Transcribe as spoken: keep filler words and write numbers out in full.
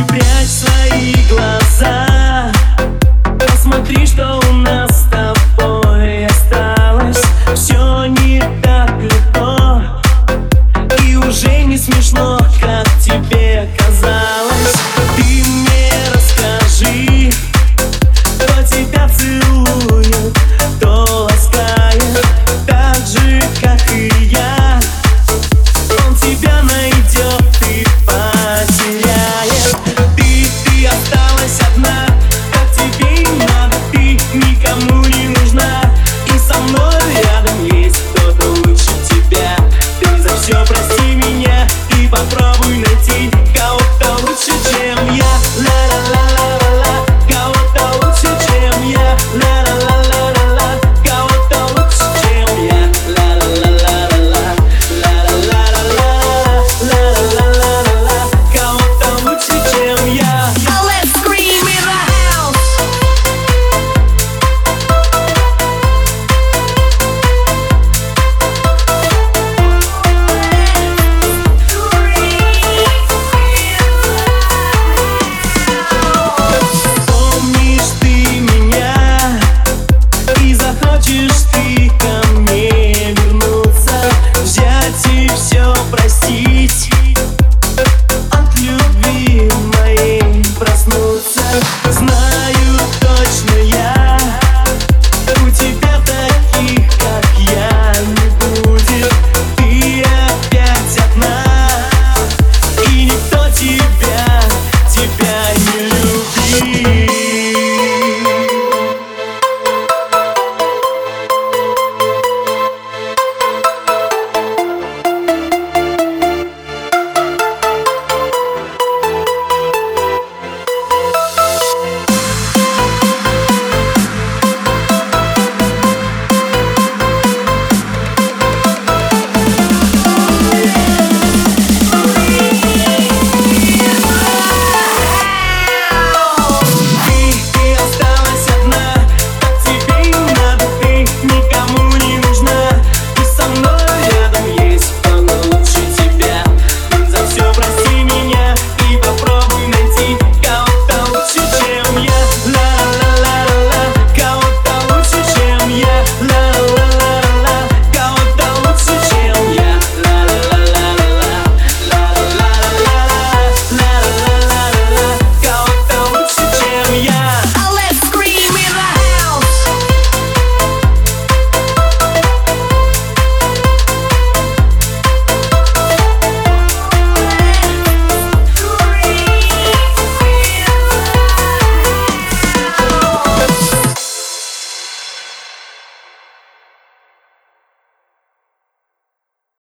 Прячь свои глаза, посмотри, что у нас с тобой осталось. Все не так легко и уже не смешно, как тебе казалось. Ты мне расскажи, кто тебя целует, кто ласкает так же, как и я. Он тебя найдет и потеряет. Ты, ты осталась одна, как тебе и надо. Ты никому не нужна, и со мной рядом есть кто-то лучше тебя. Ты за все прости меня и попробуй найти кого-то лучше, чем я. Ла-ла-ла-ла-ла-ла, кого-то лучше, чем я. Ла-ла-ла-ла-ла-ла, кого-то лучше, чем я. Ла-ла-ла-ла-ла-ла, ла-ла-ла-ла-ла, ла-ла-ла-ла-ла, кого-то лучше, чем я. Let's scream in the house. Помнишь ты меня и захочешь ты ко мне вернуться, взять и все простить, от любви моей проснуться. Знаю точно я, у тебя таких, как я, не будет. Ты опять одна, и никто тебе